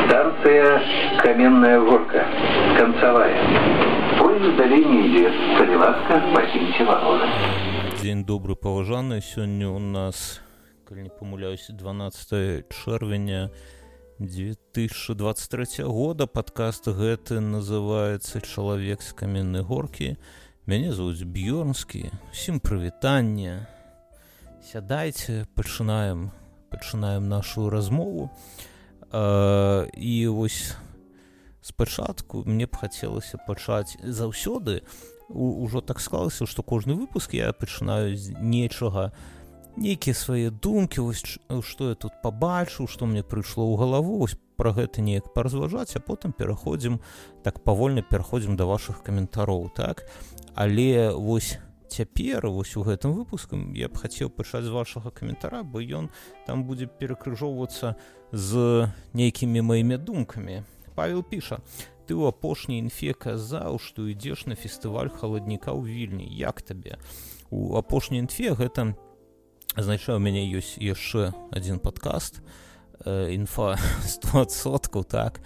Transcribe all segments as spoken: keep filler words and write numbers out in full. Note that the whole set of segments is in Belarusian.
Станция Каменная Горка. Концевая. Поезд далее не идет. Коли ласка, покиньте вагоны. Дзень добры, паважаны. Сёння у нас, калі не памыляюся, дванаццатае чэрвеня две тысячи двадцать третьего года. Падкаст гэты называецца «Чалавек з каменнай горкі». Мяне зовут Бьёрнскі. Усім прывітанне. Сядайце, пачынаем, пачынаем нашу размову. Uh, і вось спачатку мне б хацелася пачаць заўсёды. У, ужо так склалася, што кожны выпуск я пачынаю з нечага, нейкія свае думкі, вось што я тут пабачыў, што мне прыйшло ў галаву, вось пра гэта неяк паразважаць, а потым пераходзім, так павольна пераходзім да вашых каментароў, так? Але вось цяпер, вось у гэтым выпуску я б хацеў пачаць з вашага каментара, бо ён там будзе перакрыжоўвацца з нейкімі маімі думкамі. Павел піша: ты ў апошняй інфе казаў, што ідзеш на фестываль халадніка ў Вільні. Як табе? У апошняй інфе гэта, значыць, у мяне ёсць яшчэ адзін падкаст, э, інфа сто адсоткаў, так,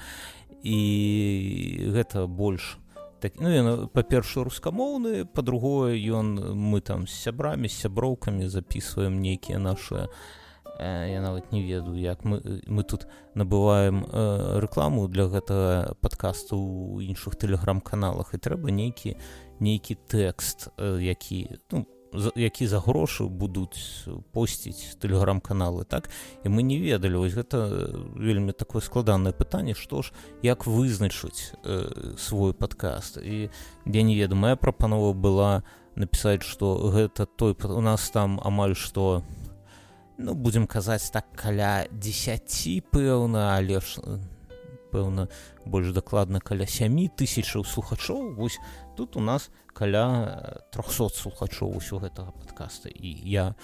і гэта больш так, ну, ён, па-першае, рускамоўны, па-другое, ён, мы там з сябрамі, з сяброўкамі запісваем нейкія нашы, э, я нават не ведаю, як мы, мы тут набываем э, рэкламу для гэтага падкасту ў іншых тэлеграм-каналах, і трэба нейкі, нейкі тэкст, э, які, ну, які за грошы будуць посціць тэлеграм-каналы, так? І мы не ведалі, вось гэта вельмі такое складанае пытанне, што ж, як вызначыць э, свой падкаст. І я не ведаю, моя прапанова была напісаць, што гэта той, у нас там амаль што, ну, будзем казаць так, каля дзесяці, пэўна, але ж, пэўна, больш дакладна, каля сямі тысячаў слухачоў. Вось тут у нас каля трохсот слухачоў усё гэтага падкаста, і я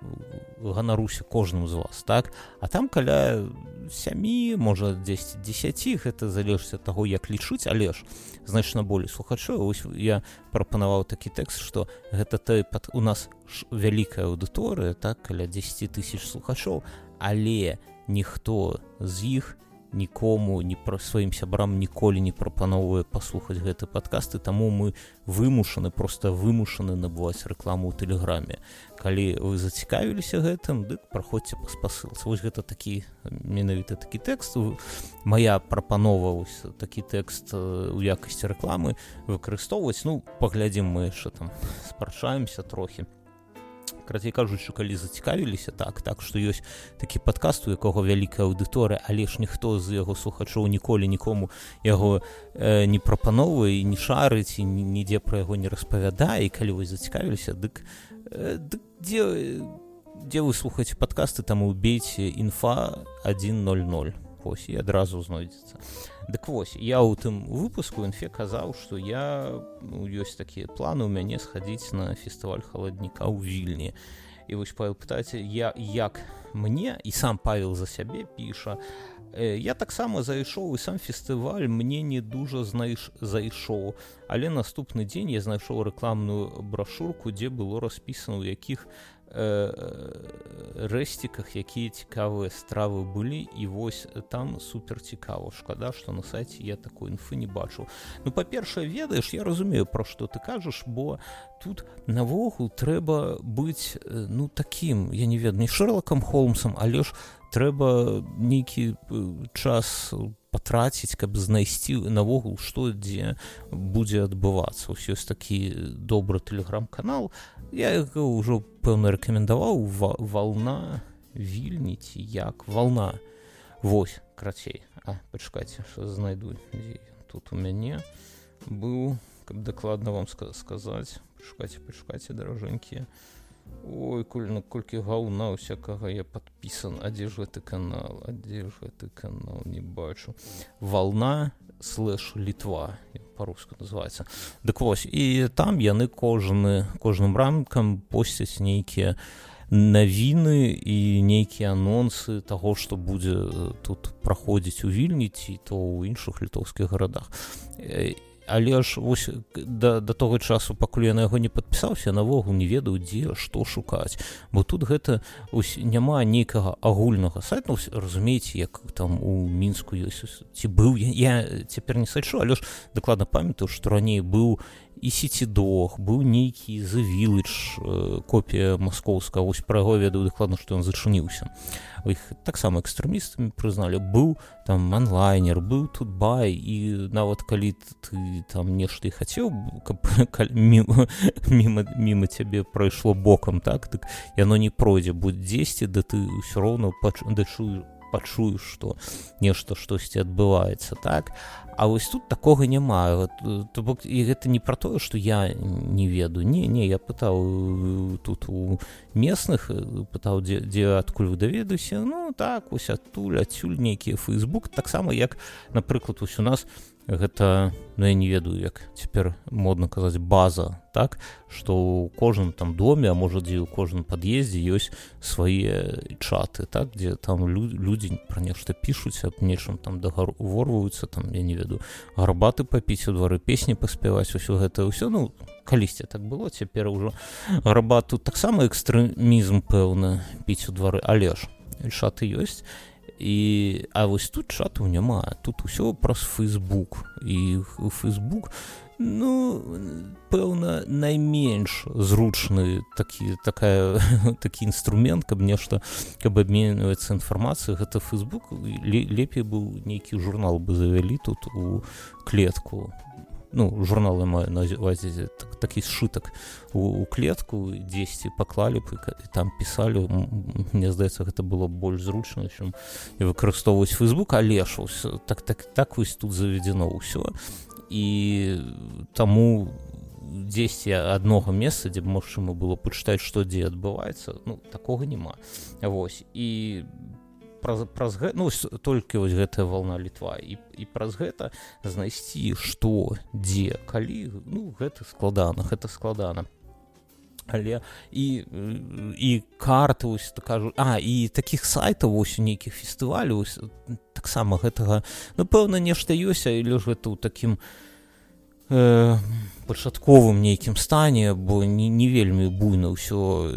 ганаруся кожным з вас, так? А там каля сямі, можа, дзесяць дзесяці, гэта залежыць ад таго, як лічыць, але ж значна болей слухачоў. Вось я прапанаваў такі тэкст, што гэта той, у нас вялікая аўдыторыя, так, каля дзесяць тысяч слухачоў, але ніхто з іх нікому, ні пра сваім сябрам ніколі не прапановвае паслухаць гэты падкаст, і таму мы вымушаны, проста вымушаны набываць рэкламу ў тэлеграме. Калі вы зацікавіліся гэтым, дык праходзьце па спасылцы. Вось гэта такі, менавіта такі тэкст. Моя прапанова, вось такі тэкст у якасці рэкламы выкарыстоўваць. Ну, паглядзім, мы яшчэ там спрачаемся трохі. Карацей кажучы, калі зацікавіліся, так, так, што ёсць такі падкаст, у якога вялікая аўдыторыя, але ж ніхто з яго слухачоў ніколі нікому яго э, не прапановвае, не шарыць, і нідзе пра яго не распавядае, і калі вы зацікавіліся, дык, э, дык дзе, дзе вы слухаеце падкасты, там убейце інфа адзін ноль ноль. Вось, і адразу знойдзецца. Дык вось, я ў тым выпуску інфе казаў, што я, ну, ёсць такія планы ў мяне схадзіць на фестываль халадніка ў Вільні. І вось Павел пытаецца, я, як мне, і сам Павел за сябе піша, э, я таксама зайшоў, і сам фестываль мне не дужа знайш, зайшоў, але наступны дзень я знайшоў рэкламную брашурку, дзе было распісана, у якіх рэсціках, якія цікавыя стравы былі, і вось там супер цікава. Шкада, што на сайце я такой інфы не бачыў. Ну, па-першае, ведаеш, я разумею, пра што ты кажаш, бо тут навогул трэба быць, ну, такім, я не ведаю, не Шерлокам Холмсам, але ж трэба нейкі час патраціць, каб знайсці навогул, што дзе будзе адбывацца. Ось ёсць такі добры тэлеграм-канал, я яго ўжо, пэўна, рэкамендаваў, Вална Вільні, ці як, Вална. Вось, крацей. А, пачакайце, што знайду, дзе тут у мяне быў, каб дакладна вам сказаць. Пачакайце, пачакайце, даражэнькія. Ой, коль, колькі гаўна усякага я падпісан. А дзе ж гэты канал? А дзе ж гэты канал? Не бачу. Вална слэш Літва, па-руску называецца. Дык вось, і там яны кожны, кожным рамкам посцяць нейкія навіны і нейкія анонсы таго, што будзе тут праходзіць у Вільні, ці то ў іншых літоўскіх гарадах. але ж вось да, да того часу, пакуль я на яго не падпісаўся, навогул не ведаў, дзе што шукаць, бо тут гэта ось няма нейкага агульнага сайта. Ну, разумееце, як там у Мінску ёсць, ці быў, я, я цяпер не сачу, але ж дакладна памятаю, што раней быў і Сіці-Дог, быў нейкі The Village, э, копія маскоўская, вось пра яго ведаю дакладна, што ён зачыніўся. Іх таксама экстрэмістамі прызналі. Быў там онлайнер, быў Тутбай, і нават калі ты там нешта і хацеў, каб міма, міма, міма цябе прайшло бокам, так, так яно не пройдзе, будь дзесьці, да ты ўсё роўна пач... дачуеш, пачуеш, што нешта штосьці адбываецца, так. А вось тут такога няма. То бок, і гэта не пра тое, што я не ведаю. Не, не, я пытаў тут у местных, пытаў, дзе, дзе адкуль вы даведуся. Ну, так, вось адтуль, адсюль нейкія Facebook. Таксама, як, напрыклад, вось у нас гэта, ну, я не ведаю, як цяпер модна казаць, база, так, што ў кожным там доме, а можа, дзе ў кожным пад'ездзе ёсць свае чаты, так, дзе там лю- людзі пра нешта пішуць, аб нечым там дагаворваюцца, там, я не ведаю, гарбаты папіць у двары, песні паспяваць, усё гэта, ўсё, ну, калісьці так было, цяпер ужо гарбат, тут таксама экстрэмізм, пэўна, піць у двары, але ж чаты ёсць. І, а вось тут чатаў няма, тут усё праз Facebook, і Facebook, ну, пэўна, найменш зручны такі, такая, такі інструмент, каб нешта, каб абменьвацца інфармацыяй, гэта Facebook. Лепей быў нейкі журнал бы завялі тут у клетку. Ну, журнал я маю на ўвазе, так, такі сшытак у, у клетку, дзесьці паклалі б, і там пісалі. Мне здаецца, гэта было больш зручна, чым выкарыстоўваць Facebook, але ж так, так, так вось тут заведзено ўсё. І таму дзесьці аднога месца, дзе магчыма было пачытаць, што дзе адбываецца, ну, такога няма. Вось, і праз, праз гэта, ну, толькі вось гэтая вална Літва, і, і праз гэта знайсці, што, дзе, калі, ну, гэта складана, гэта складана. Але і, і карты, ось, так кажу, а, і такіх сайтаў, ось, у нейкіх фестывалю, ось, таксама гэтага, ну, пэўна, нешта ёсць, але ж гэта ў такім э, пачатковым нейкім стане, бо не, не вельмі буйна ўсё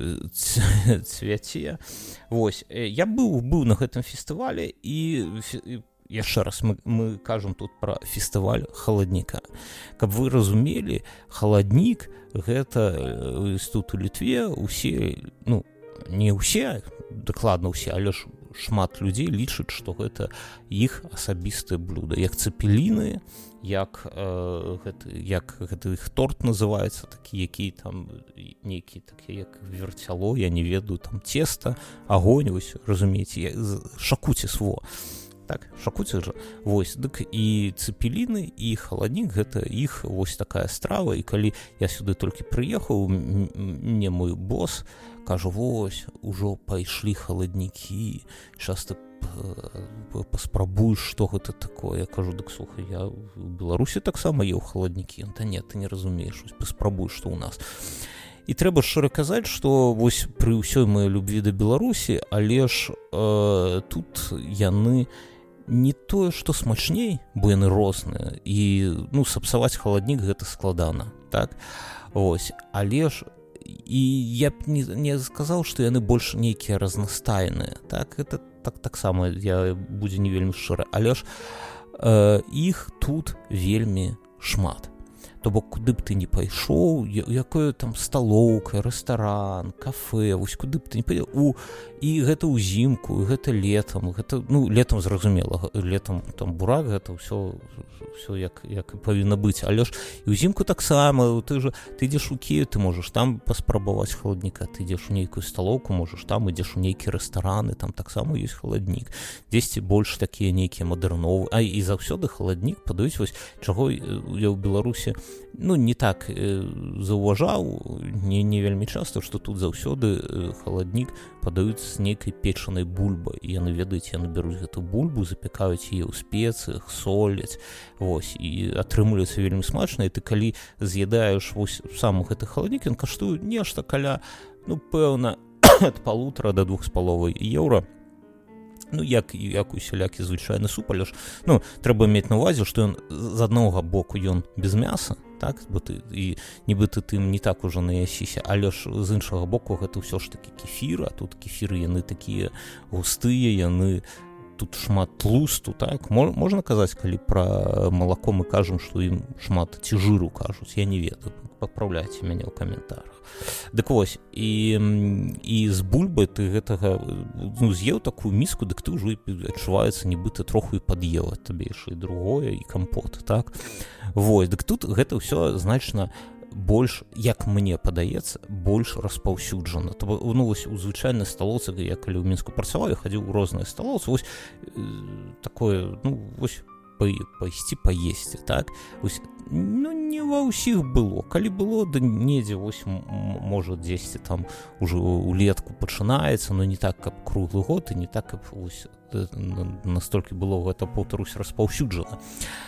цвяце. Вось, я быў, быў на гэтым фестывалі, і, і яшчэ раз мы, мы кажам тут пра фестываль халадніка. Каб вы разумелі, халаднік гэта тут у Літве усе, ну, не ўсе, дакладна ўсе, але ж шмат людзей лічаць, што гэта іх асабістае блюда, як цэпеліны, як, э, гэта, як гэта іх торт называецца, такі, які там нейкі, такі, як верцяло, я не ведаю, там цеста, агонь, вось, разумееце, шакуціс, во. Так, шакуціс жа. Вось, дык і цэпеліны, і халаднік, гэта іх вось такая страва, і калі я сюды толькі прыехаў, мне мой босс кажу, вось, ужо пайшлі халаднікі, часта паспрабуеш, што гэта такое. Я кажу, дык слухай, я в Беларусі таксама еў халаднікі. Та не, ты не разумееш, паспрабуеш, што ў нас. І трэба шчыра казаць, што вось пры ўсёй маёй любві да Беларусі, але ж э, тут яны не тое, што смачней, бо яны розныя, і, ну, сапсаваць халаднік гэта складана, так? Ось, але ж і я б не, не сказаў, што яны больш нейкія разнастайныя, так? Гэта так, таксама я будзе не вельмі шчыра, але ж э, іх тут вельмі шмат. То бок, куды б ты не пайшоў, якое там сталоўка, рэстаран, кафе, вось куды б ты не пайшоў, у, і гэта ўзімку, і гэта летам, гэта, ну, летам зразумела, летам там бурак, гэта ўсё, ўсё як, як і павінна быць, але ж і ўзімку таксама, ты ж, ты ідзеш у Кіев, ты можаш там паспрабаваць халадніка, ты ідзеш у нейкую сталоўку, можаш там, ідзеш у нейкія рэстараны, там таксама ёсць халаднік, дзесьці больш такія нейкія мадэрновы, а і заўсёды халаднік падаюць, вось, чаго я ў Беларусі, ну, не так э, заўважаў, не, не вельмі часта, што тут заўсёды э, халаднік падаюць з нейкай печанай бульбай. І яны, ведаеце, яны бяруць гэту бульбу, запякаюць яе ў спецыях, соляць, вось, і атрымліваецца вельмі смачна. І ты калі з'едаеш вось сам гэты халаднік, ён каштуе нешта каля, ну, пэўна, ад палутара да двух з паловай еўра. Ну, як, як усялякі звычайны суп, але ж, ну, трэба мець на ўвазе, што ён з аднаго боку ён без мяса, так, бо ты, і нібыта тым не так ужо наясіся, але ж з іншага боку гэта ўсё ж такі кефір, а тут кефіры, яны такія густыя, яны, тут шмат тлусту, так, можна казаць, калі пра малако мы кажам, што ім шмат ці жыру кажуць, я не ведаю, папраўляйце мяне ў каментарах. Дык вось, і, і з бульбай ты гэтага, ну, з'еў такую міску, дык ты ўжо адчуваецца, нібыта троху і пад'ела табе яшчэ і другое, і кампот, так? Вось, дык тут гэта ўсё значна больш, як мне падаецца, больш распаўсюджана. Ну, вось, у звычайнай сталоўцы, я калі ў Мінску працаваў, я хадзіў у розныя сталоўцы, вось, э, такое, ну, вось, пайсці паесці, так? Вось, ну, не ва ўсіх было. Калі было, да недзе, вось, можа, дзесьці там ужо улетку пачынаецца, но не так, каб круглы год, і не так, каб, вось, настолькі было гэта, паўтарусь, распаўсюджана.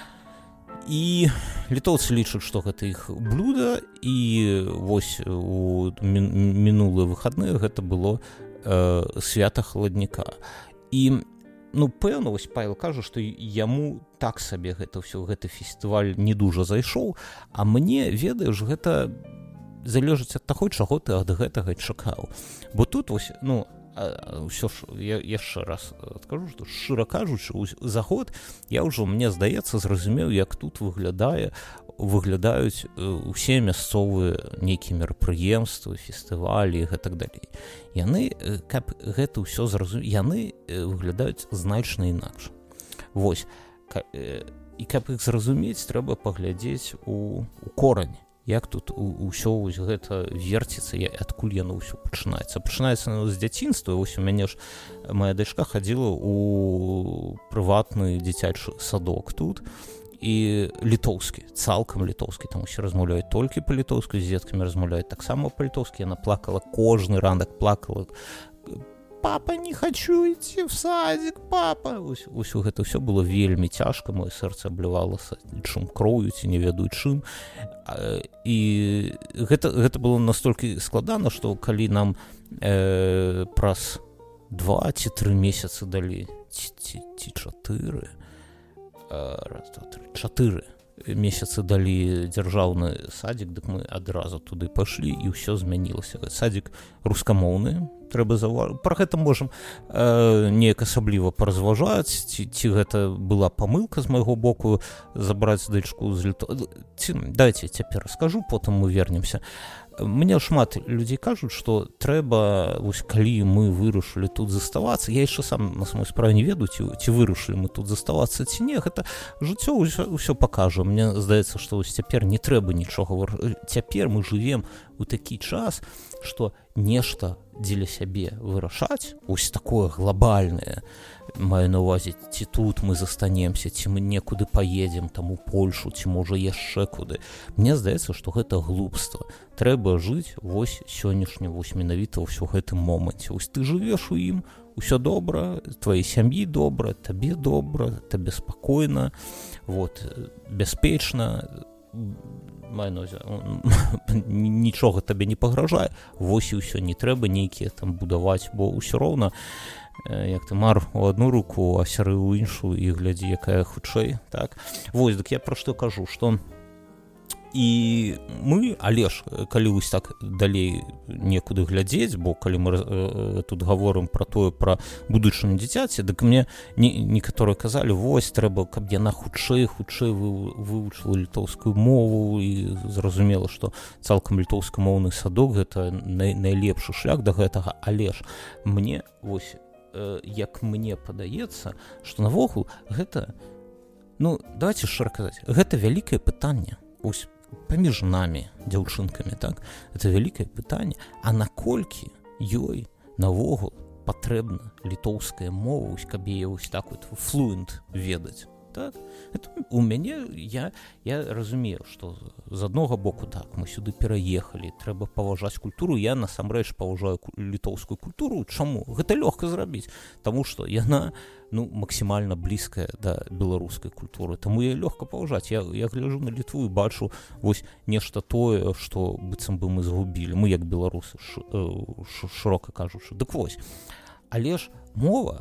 І літоўцы лічаць, што гэта іх блюда, і вось у мінулыя выхадныя гэта было э, свята халадніка. І, ну, пэўна, вось Павел кажа, што яму так сабе гэта ўсё, гэты фестываль не дужа зайшоў, а мне, ведаеш, гэта залежыць ад таго, чаго ты ад гэтага чакаў. Бо тут, вось, ну, ўсё ж, я яшчэ раз адкажу, што шчыра кажучы, за год я ўжо, мне здаецца, зразумеў, як тут выглядае выглядаюць усе мясцовыя нейкія мерапрыемствы, фестывалі і гэтак далей. Яны, каб гэта ўсё зразумець, яны выглядаюць значна інакш. Вось, і каб іх зразумець, трэба паглядзець у, у корань. Як тут ўсё вось гэта верціцца, адкуль яно ўсё пачынаецца. Пачынаецца з дзяцінства. Вось у мяне ж моя дачка хадзіла ў прыватны дзіцячы садок тут, і літоўскі, цалкам літоўскі, там усе размаўляюць толькі па-літоўску, з дзеткамі размаўляюць таксама па-літоўскі. Яна плакала кожны ранак, плакала: «Папа, не хочу идти в садик, папа!» Ось, ось гэта ўсё было вельмі цяжка, моё сэрца аблівалася чым кроўю, ці не ведаю чым. І гэта, гэта было настолькі складана, што калі нам э, праз два ці тры месяцы далі, ці, ці, ці чатыры, э, раз, два, тры, чатыры месяцы далі дзяржаўны садик, дык мы адразу туды пайшлі, і ўсё змянілася. Садик рускамоўны, трэба заўважыць. Пра гэта можам э, неяк асабліва паразважаць, ці, ці гэта была памылка з майго боку забраць дачку з літо... Ці, дайце цяпер раскажу, потым мы вернемся. Мне шмат людзей кажуць, што трэба, вось, калі мы вырашылі тут заставацца, я яшчэ сам на самой справе не ведаю, ці, ці вырашылі мы тут заставацца, ці не, гэта жыццё ўсё, ўсё пакажа. Мне здаецца, што вось цяпер не трэба нічога выр... Цяпер мы жывем у такі час, што нешта дзеля сябе вырашаць, ось такое глобальнае, маю на ўвазе, ці тут мы застанемся, ці мы некуды паедзем, там у Польшу, ці можа яшчэ куды. Мне здаецца, што гэта глупства. Трэба жыць вось сённяшнім, вось менавіта ўсё гэтым моманце. Вось ты жывеш у ім, усё добра, тваёй сям'і добра, табе добра, табе спакойна, вот, бяспечна, маю на ўвазе, нічога табе не пагражае, вось і ўсё, не трэба нейкія там будаваць, бо ўсё роўна, як ты мар у адну руку, а сяры ў іншую, і глядзі, якая хутчэй, так? Вось, дык я пра што кажу, што і мы, але ж, калі вось так далей некуды глядзець, бо калі мы э, тут гаворым пра тое, пра будучыню дзіцяці, дык мне не, некаторыя казалі, вось, трэба, каб яна хутчэй, хутчэй вы, вывучыла літоўскую мову і зразумела, што цалкам літоўскамоўны садок гэта най, найлепшы шлях да гэтага, але ж мне, вось, э, як мне падаецца, што навогул гэта, ну, давайте шчыра казаць, гэта вялікае пытанне, вось, паміж намі, дзяўчынкамі, так? Это вялікае пытанне, а наколькі ёй навогул патрэбна літоўская мова, каб яе вось так вот флуэнт ведаць, так? Это у мяне, я, я разумею, што з аднога боку, так, мы сюды пераехалі, трэба паважаць культуру, я насамрэч паважаю літоўскую культуру. Чаму? Гэта лёгка зрабіць, таму што яна, ну, максімальна блізкая да беларускай культуры, таму я лёгка паважаць. Я, я гляджу на Літву і бачу вось нешта тое, што быццам бы мы згубілі, мы як беларусы, ш, ш, шырока кажучы. Дык вось, але ж мова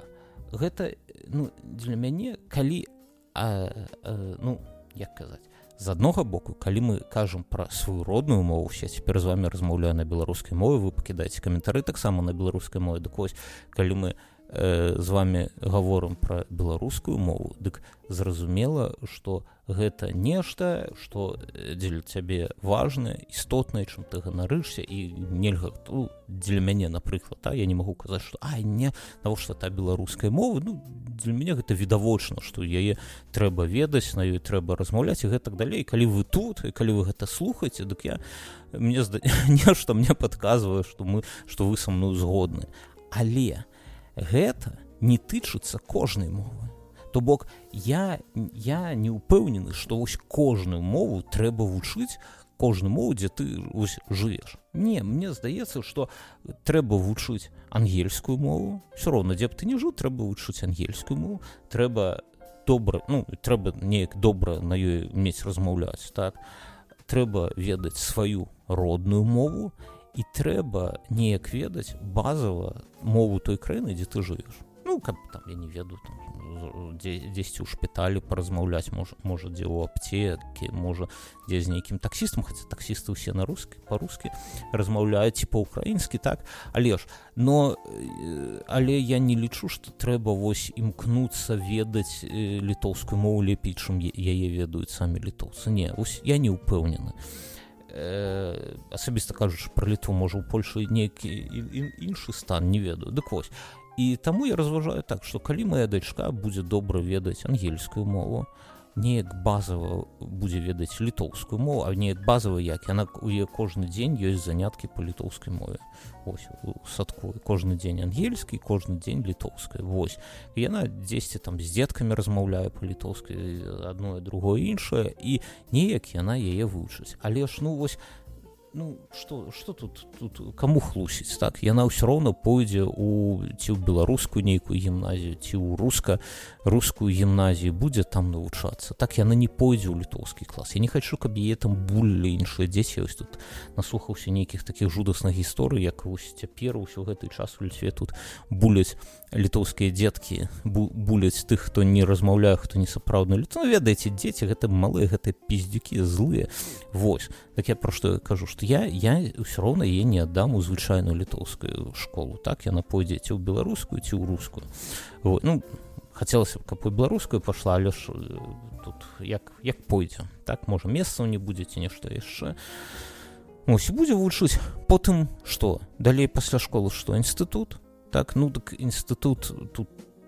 гэта ну для мяне калі а, а, ну як казаць з аднога боку, калі мы кажам пра сваю родную мову, я цяпер з вами размаўляю на беларускай мове, вы пакідаеце каментары таксама на беларускай мове, дык вось калі мы э, з вами гаворым пра беларускую мову, дык зразумела, што гэта нешта, што дзеля цябе важнае, істотнае, чым ты ганарышся, і нельга, ну, дзеля мяне, напрыклад, а, я не магу казаць, што ай, не, навошта та беларускай мовы, ну, для мяне гэта відавочна, што яе трэба ведаць, на ёй трэба размаўляць і гэтак далей. Калі вы тут, і калі вы гэта слухаеце, дык я, мне зда... нешта мне падказвае, што мы, што вы са мной згодны. Але гэта не тычыцца кожнай мовы. То бок, я, я не ўпэўнены, што вось кожную мову трэба вучыць, кожную мову, дзе ты вось жывеш. Не, мне здаецца, што трэба вучыць ангельскую мову. Всё роўна, дзе б ты не жыў, трэба вучыць ангельскую мову. Трэба добра, ну, трэба неяк добра на ёй мець размаўляць, так? Трэба ведаць сваю родную мову, і трэба неяк ведаць базава мову той краіны, дзе ты жывеш. Ну, каб там, я не ведаю, там, дзесьці ў шпіталі паразмаўляць, можа, можа дзе ў аптэкі, можа, дзе з нейкім таксістам, хаця таксісты ўсе на рускі, па-рускі размаўляюць, ці па-ўкраінскі, так, але ж, но, але я не лічу, што трэба вось імкнуцца ведаць літоўскую мову лепей, чым яе ведаюць самі літоўцы. Не, вось я не ўпэўнены. Э, асабіста кажучы, пра Літву, можа, у Польшы нейкі іншы стан, не ведаю. Дык вось. І таму я разважаю так, што калі моя дачка будзе добра ведаць ангельскую мову, неяк базава будзе ведаць літоўскую мову, а неяк базава як, яна у яе кожны дзень ёсць заняткі па літоўскай мове. Вось, у садку. Кожны дзень ангельскі, кожны дзень літоўская. Вось. І яна дзесьці там з дзеткамі размаўляе па-літоўскай, адно і другое іншае, і неяк яна яе вучыць. Але ж, ну, вось, ну, што, што тут, тут каму хлусіць, так? Яна ўсё роўна пойдзе у, ці ў беларускую нейкую гімназію, ці ў руска, рускую гімназію, будзе там навучацца. Так, яна не пойдзе ў літоўскі клас. Я не хачу, каб яе там булілі іншыя дзеці. Я ось тут наслухаўся нейкіх такіх жудасных гісторый, як вось цяпер усё гэты час у Літве тут буляць літоўскія дзеткі, бу, буляць тых, хто не размаўляе, хто не сапраўдны літоў. Ну, ведаеце, дзеці, гэта малыя, гэта піздюкі злыя. Вось. Так я пра што я кажу, што я, я ўсё роўна яе не аддам у звычайную літоўскую школу. Так, яна пойдзе ці ў беларускую, ці ў рускую. Вот. Ну, хацелася б, каб у беларускую пашла, але ж тут як, як пойдзе. Так, можа, месцаў не будзе, ці нешта яшчэ. Ось, і будзе вучыць. Потым што? Далей пасля школы што? Інстытут? Так, ну, так інстытут тут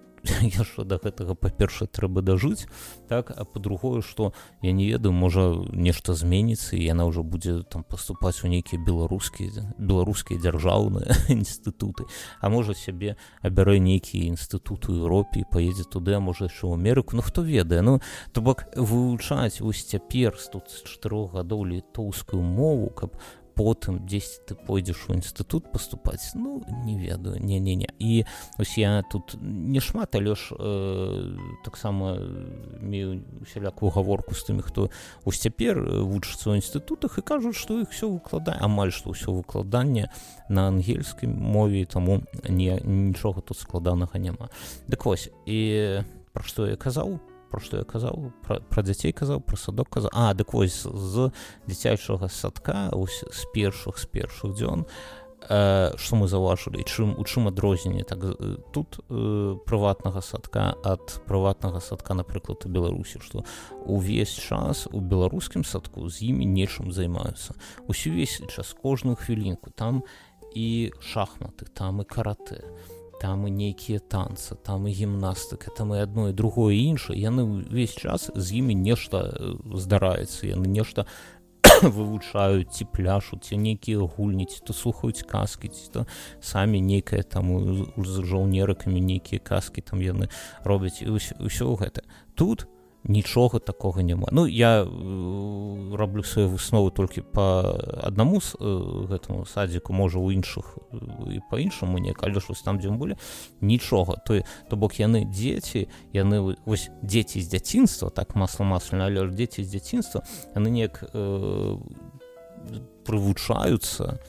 я що да гэтага, па-першае, трэба дажыць, так, а па-другое, што я не ведаю, можа, нешта зменіцца, і яна ўжо будзе там паступаць у нейкія беларускія, беларускія дзяржаўныя інстытуты, а можа, сябе абярэ нейкі інстытут у Еўропе і паедзе туды, а можа, яшчэ ў Амерыку, ну, хто ведае, ну, то бок вывучаць вось цяпер з тут з чатырох гадоў літоўскую мову, каб потым дзесьці ты пойдзеш у інстытут паступаць, ну, не ведаю, не-не-не. І ось я тут не шмат, але ж э, таксама мею усялякую гаворку з тымі, хто ось цяпер вучыцца ў інстытутах і кажуць, што іх все выкладае, амаль што ўсё выкладанне на ангельскай мове, таму не, нічога тут складанага няма. Дык вось, і пра што я казаў? Про што я казаў, пра, пра дзяцей казаў, пра садок казаў. А, дык вось, з дзіцячага садка, ось з першых, з першых дзён, э, што мы заўважылі, чым, у чым адрозненне так, тут э, прыватнага садка ад прыватнага садка, напрыклад, у Беларусі, што увесь час у беларускім садку з імі нечым займаюцца. Увесь час, кожную хвілінку, там і шахматы, там і каратэ, там і нейкія танцы, там і гімнастыка, там і адно, і другое, і іншае. Яны ўвесь час з імі нешта здараецца, яны нешта вывучаюць, ці пляшуць, ці нейкія гульні, ці то слухаюць казкі, ці то самі нейкае там з жаўнерыкамі нейкія казкі там яны робяць, і ўсё гэта. Тут нічога такога няма. Ну, я э, раблю свае высновы толькі па аднаму э, гэтаму садзіку, можа, у іншых і па іншаму неяк, але ж там, дзе мы былі, нічога. То, то бок яны дзеці, яны, вось, дзеці з дзяцінства, так масла-масляна, але ж дзеці з дзяцінства, яны неяк э, прывучаюцца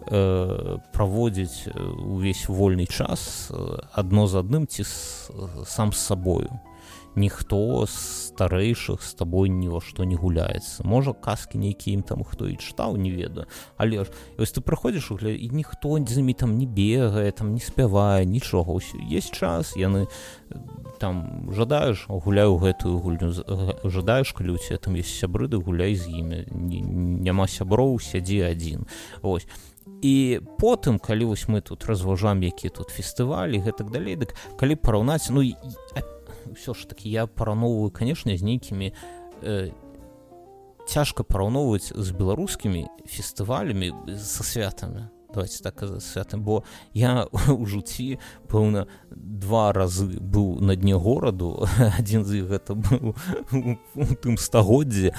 э, праводзіць увесь вольны час адно з адным ці с, сам з сабою. Ніхто з старэйшых з табой ні во што не гуляецца. Можа, казкі нейкія ім там хто і чытаў, не ведаю. Але ж, вось ты прыходзіш, і ніхто з імі там не бегае, там не спявае, нічога. Есть час, яны там жадаеш, гуляю гэтую гульню, жадаеш, калі у цябе там ёсць сябры, ды гуляй з імі. Няма сяброў, сядзі адзін. Вось. І потым, калі вось мы тут разважаем, якія тут фестывалі, гэтак далей, дык калі параўнаць, ну, ўсё ж такі я параўноўваю, канешне, з нейкімі э, цяжка параўноўваць з беларускімі фестывалямі са святамі. Давайте так казаць, святам, бо я ў жыцці, пэўна, два разы быў на дне гораду, адзін з іх гэта быў у тым стагоддзі.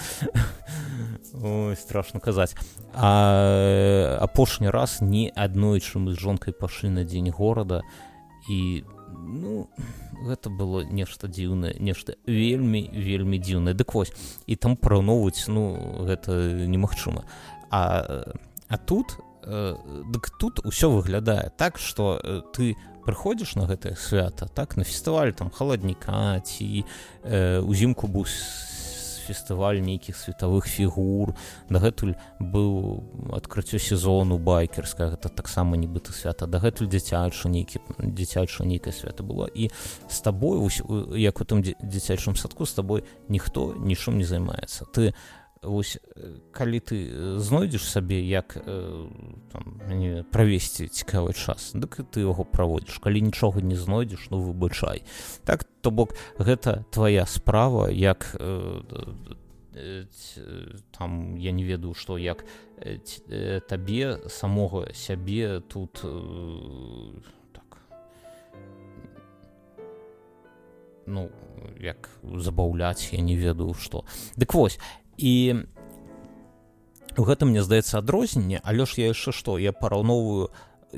Ой, страшно казаць. А апошні раз ні аднойчы мы з жонкай пашлі на дзень горада, і ну, гэта было нешта дзіўнае, нешта вельмі, вельмі дзіўнае. Дык вось, і там параўноўваць, ну, гэта немагчыма. А, а тут, э, дык тут усё выглядае так, што э, ты прыходзіш на гэтае свята, так, на фестываль там халадніка, ці э, узімку быў фестываль нейкіх светавых фігур, дагэтуль быў адкрыццё сезону байкерскага, гэта таксама нібыта свята, дагэтуль дзіцяча нейкі дзіцячае нейкае свята было, і з табой, як у тым дзіцячым садку, з табой ніхто нічым не займаецца. Ты вось, калі ты знойдзеш сабе, як там, не, правесці цікавы час, дык ты яго праводзіш. Калі нічога не знойдзеш, ну выбачай. Так, то бок, гэта твая справа, як э, э, там, я не ведаю, што, як э, табе, самога сябе тут э, так, ну, як забаўляць, я не ведаю, што. Дык вось, і у гэтым, мне здаецца, адрозненне, але ж я яшчэ што, я параўноўваю,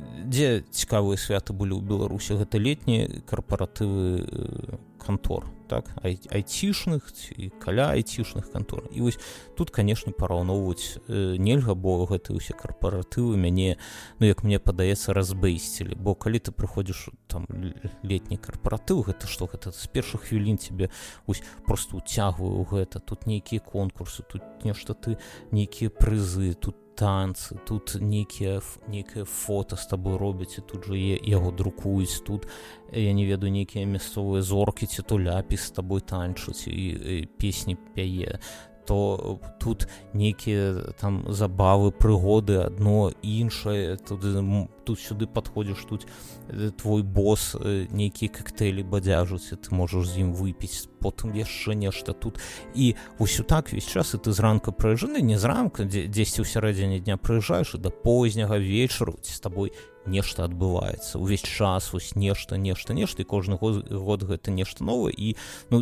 дзе цікавыя святы былі ў Беларусі, гэта летнія карпаратывы кантор, так, ай, айцішных ці каля айцішных кантор. І вось тут, канешне, параўноўваць э, нельга, бо гэтыя ўсе карпаратывы мяне, ну, як мне падаецца, разбэйсцілі, бо калі ты прыходзіш там летні карпаратыў, гэта што, гэта з першых хвілін тебе ось просто уцягваю ў гэта, тут нейкія конкурсы, тут нешта ты, нейкія прызы, тут танцы, тут нейкія, нейкае фота з табой робяць, і тут жа яго друкуюць, тут, я не ведаю, нейкія мясцовыя зоркі, ці то ляпіс з табой танчуць і, і песні пяе, то тут нейкія там забавы, прыгоды, адно іншае, тут, тут сюды падходзіш, тут твой бос нейкія коктейлі бадзяжуць, і ты можаш з ім выпіць, потым яшчэ нешта тут. І ўсё так весь час, і ты зранка прыязджаеш, не зранка, дзесьці ў сярэдзіне дня прыязджаеш, і да позняга вечару з табой нешта адбываецца. Увесь час вось нешта, нешта, нешта, і кожны год, год гэта нешта новае, і ну,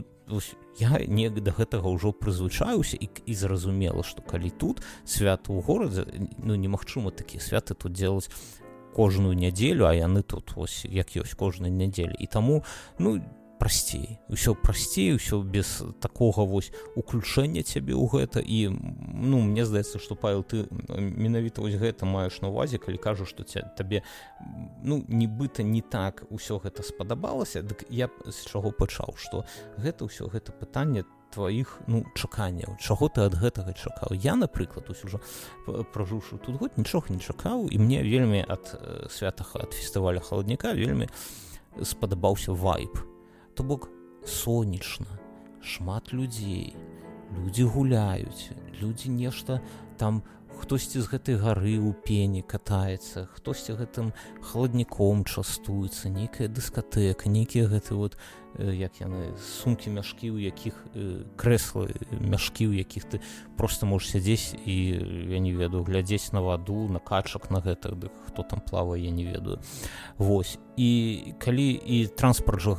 я не да гэтага ўжо прызвычаюся і, і зразумела, што калі тут свята ў горадзе, ну немагчыма такія святы тут делаць кожную нядзелю, а яны тут вось як ёсць кожную нядзелю. І таму, ну, прасцей, усё прасцей, усё без такога вось уключэння цябе ў гэта. І ну, мне здаецца, што, Павел, ты менавіта вось гэта маеш на увазе, калі кажаш, што табе ну, нібыта не так усё гэта спадабалася. Дык я з чаго пачаў, што гэта ўсё гэта пытанне тваіх, ну, чаканняў, чаго ты ад гэтага чакаў. Я, напрыклад, ось ужо пражыўшы тут год, нічога не чакаў, і мне вельмі ад святага, ад фестываля халадніка вельмі спадабаўся вайб. То бок сонечна, шмат людзей, людзі гуляюць, людзі нешта там, хтосьці з гэтай гары ў пені катаецца, хтосьці гэтым халадніком частуецца, нейкая дыскатэка, нейкія гэты вот, як яны, сумкі, мяшкі, у якіх крэслы, мяшкі, у якіх ты просто можаш сядзець і, я не ведаю, глядзець на ваду, на качак, на гэтых, дык хто там плавае, я не ведаю. Вось. І калі і транспарт жа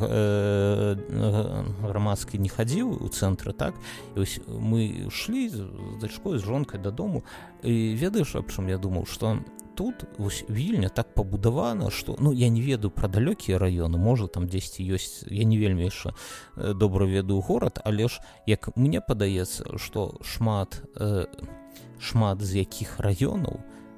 э, грамадскі не хадзіў у цэнтры, так, і вось мы шлі з дачкой, з жонкай дадому, і ведаеш, аб чым я думаў, што тут вось Вільня так пабудавана, што, ну, я не ведаю пра далёкія раёны, можа там дзесьці ёсць, я не вельмі яшчэ добра ведаю горад, але ж, як мне падаецца, што шмат, э, шмат з якіх раёнаў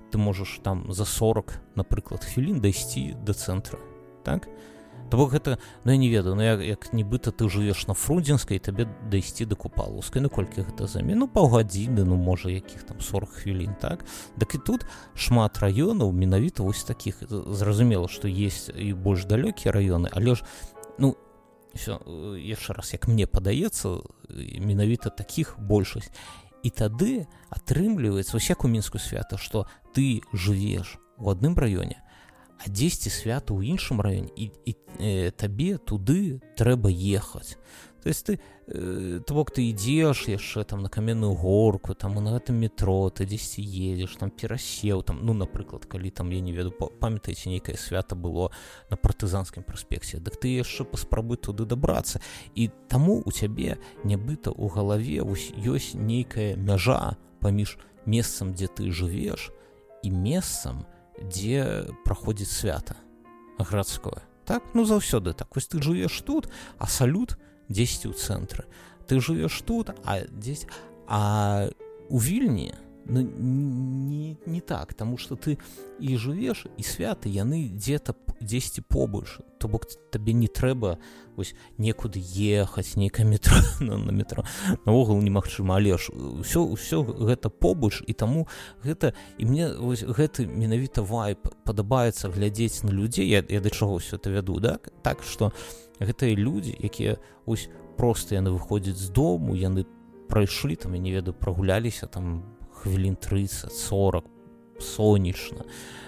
ты можаш там за сорок, напрыклад, хвілін дайсці да цэнтра, так? То бок гэта, ну я не ведаю, ну як, як нібыта ты жывеш на Фрудзенскай, табе дайсці да Купалаўскай, ну колькі гэта займе? Ну паўгадзіны, ну можа якіх там сорок хвілін, так? Дак і тут шмат раёнаў менавіта вось такіх, зразумела, што есть і больш далёкія раёны, але ж, ну, все, яшчэ раз, як мне падаецца, менавіта такіх большасць. І тады атрымліваецца, вось як у Мінску свята, што ты жывеш у адным раёне, а дзесьці свята ў іншым раёне, і, і э, табе туды трэба ехаць. То есть ты, э, то бок ты ідзеш яшчэ там на Каменную горку, там на гэтым метро, ты дзесьці едзеш, там перасеў, там, ну, напрыклад, калі там, я не ведаю, памятаеце, нейкае свята было на Партызанскім праспекце, дык ты яшчэ паспрабуй туды дабрацца. І таму у цябе нібыта ў галаве ёсць нейкая мяжа паміж месцам, дзе ты жывеш, і месцам, дзе праходзіць свята гарадское. Так? Ну, заўсёды так. Вось ты жывеш тут, а салют дзесьці ў цэнтры. Ты жывеш тут, а дзесь... А у Вільні ну, не, не так, таму што ты і жывеш, і святы, яны дзе-то дзесьці побольш. То бок табе не трэба вось некуды ехаць, нейкае метро, на, на метро. Наогул немагчыма, але ж ўсё, ўсё гэта побольш, і таму гэта, і мне вось гэты менавіта вайб падабаецца глядзець на людзей, я, я да чаго ўсё это вяду, да? Так, што гэтыя людзі, якія вось проста яны выходзяць з дому, яны прайшлі, там, я не ведаю, прагуляліся там хвілін трыццаць сорак, сонечна,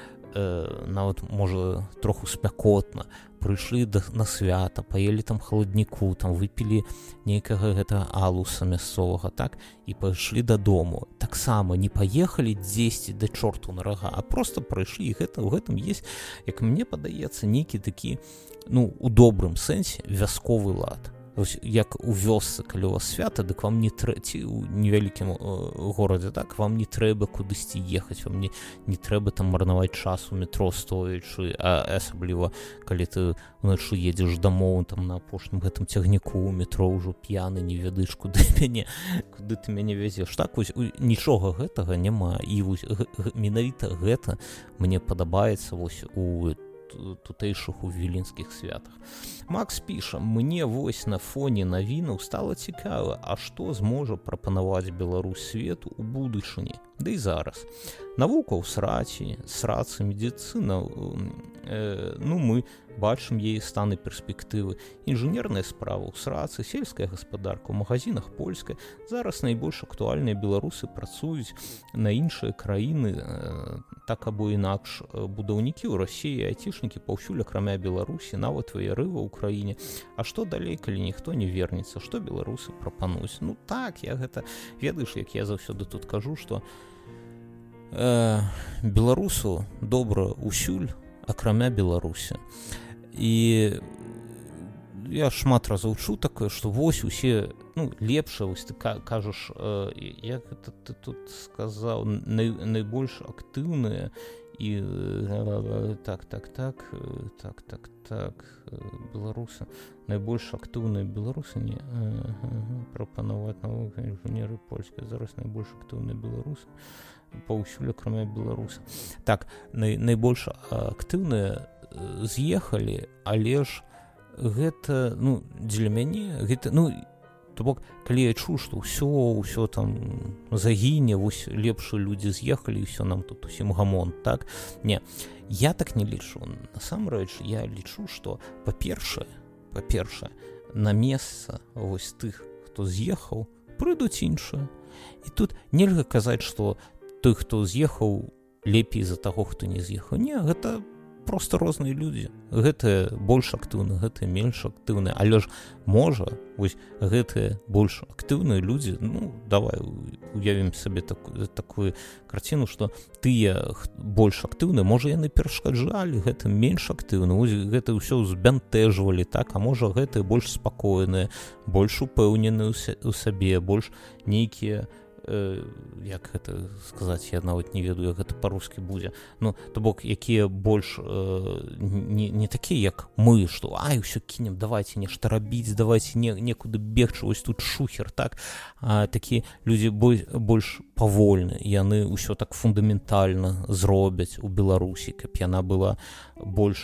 э, нават, можа, троху спякотна, прыйшлі да, на свята, паелі там халадніку, там выпілі нейкага гэтага алуса мясцовага, так, і пайшлі дадому. Таксама не паехалі дзесьці да чорту на рага, а проста прайшлі, і гэта, у гэтым есть, як мне падаецца, нейкі такі, ну, у добрым сэнсе, вясковы лад. Ось, як у вёсцы, калі у вас свята, дык вам не трэба, ці ў невялікім э, горадзе, так, вам не трэба кудысьці ехаць, вам не, не трэба там марнаваць час у метро стоячы, а асабліва, калі ты ўначы едзеш дамоў, там на апошнім гэтым цягніку у метро ўжо п'яны, не ведаеш, куды мяне, куды ты мяне вязеш. Так, вось, нічога гэтага няма, і вось, г, г, менавіта гэта мне падабаецца вось у тутэйшых у віленскіх святах. Макс піша: мне вось на фоне навінаў стала цікава, а што зможа прапанаваць Беларусь свету ў будучыні, да і зараз. Навука ў сраці, срацы, медыцына, э, ну мы бачым яе стан і перспектывы. Інжынерная справа ў срацы, сельская гаспадарка, у магазинах польская. Зараз найбольш актуальныя беларусы працуюць на іншыя краіны, э, так або інакш. Будаўнікі ў Расіі, айцішнікі паўсюль акрамя Беларусі, нават ваяры ва ўкраіне. А што далей, калі ніхто не вернецца? Што беларусы прапануюць? Ну так, я гэта, ведаеш, як я заўсёды тут кажу, што э, беларусу добра ўсюль, акрамя Беларусі. І я шмат разоў чуў такое, што вось усе, ну, лепшае, вось ты кажаш, э, як гэта ты тут сказаў, най, найбольш актыўныя і э, так, так, так, так, так, так, беларусы, найбольш актыўныя беларусы, не, э, э, прапанаваць навука, інжынеры польскай, зараз найбольш актыўныя беларусы, паўсюль акрамя беларуса. Так, най, найбольш актыўныя з'ехалі, але ж гэта, ну, дзеля мяне, гэта, ну, то бок, калі я чуў, што ўсё, ўсё там загіне, вось лепшыя людзі з'ехалі, і ўсё нам тут усім гамон, так? Не, я так не лічу. Насамрэч, я лічу, што, па-першае, па-першае, на месца вось тых, хто з'ехаў, прыйдуць іншыя. І тут нельга казаць, што той, хто з'ехаў, лепей за таго, хто не з'ехаў. Не, гэта просто розныя людзі. Гэтыя больш актыўныя, гэтыя менш актыўныя. Але ж можа, вось гэтыя больш актыўныя людзі, ну, давай уявім сабе такую, такую карціну, што тыя больш актыўныя, можа, яны перашкаджалі гэтым менш актыўна, вось гэта ўсё збянтэжвалі, так, а можа, гэтыя больш спакойныя, больш упэўненыя ў сабе, больш нейкія э, як гэта сказаць, я нават не ведаю, як гэта па-рускі будзе, ну то бок якія больш э, не, не такія як мы, што ай усё кінем, давайте нешта рабіць, давайте не, некуды бегчы, вось тут шухер, так, а такія людзі больш, больш павольны, яны ўсё так фундаментальна зробяць у Беларусі, каб яна была больш,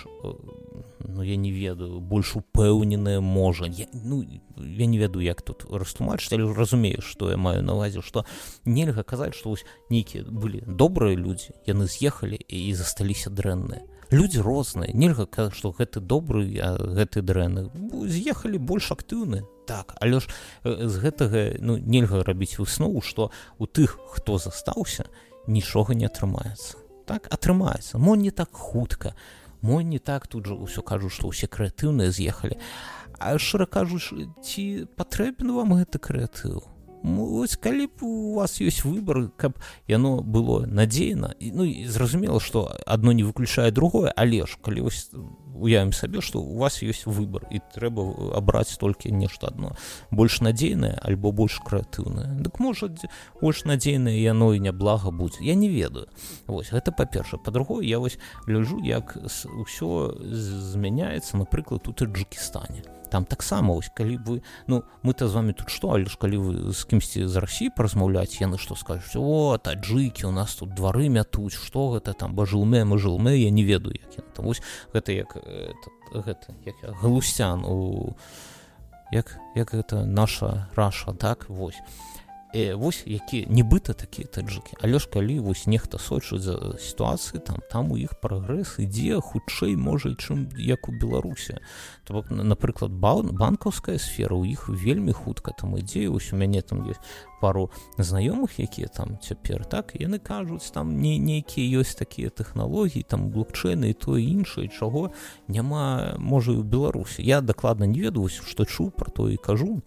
ну я не ведаю, больш упэўненая можа, я, ну я не ведаю, як тут растлумачыць, але разумею, што я маю на ўвазе, што нельга казаць, што вось нейкія былі добрыя людзі, яны з'ехалі і засталіся дрэнныя. Людзі розныя, нельга казаць, што гэты добры, а гэты дрэнны. З'ехалі больш актыўныя. Так, але ж з гэтага, ну, нельга рабіць выснову, што у тых, хто застаўся, нічога не атрымаецца. Так, атрымаецца. Мо не так хутка, мо не так, тут жа ўсё кажуць, што ўсе крэатыўныя з'ехалі. А шчыра кажучы, ці патрэбен вам гэты крэатыў? Вось калі б у вас ёсць выбар, каб яно было надзейна, ну і зразумела, што адно не выключае другое, але ж калі вось уявім сабе, што у вас ёсць выбар і трэба абраць толькі нешта адно, больш надзейнае альбо больш крэатыўнае, дык можа больш надзейнае яно і няблага будзе, я не ведаю. Вось гэта па-першае. Па-другое, я вось гляджу, як ўсё змяняецца, напрыклад, у Таджыкістане. Там таксама, ось, калі вы, ну, мы-то з вами тут што, але ж калі вы з кімсьці з Расіі паразмаўляць, яны што скажуць, о, таджыкі, у нас тут двары мятуць, што гэта там, бажылме, мажылме, я не ведаю, як яны там, ось, гэта як, это, гэта, як галусян у, як, як гэта наша Раша, так, вось. Э, вось які нібыта такія таджыкі, але ж калі вось нехта сочыць за сітуацыі, там там у іх прагрэс ідзе хутчэй можа, чым як у Беларусі. То бок, напрыклад, банкаўская сфера у іх вельмі хутка там ідзе, вось у мяне там ёсць пару знаёмых, якія там цяпер, так, яны кажуць, там не нейкія ёсць такія тэхналогіі, там блокчейны і тое іншае, чаго няма, можа, і ў Беларусі. Я дакладна не ведаю, што чуў, пра то і кажу,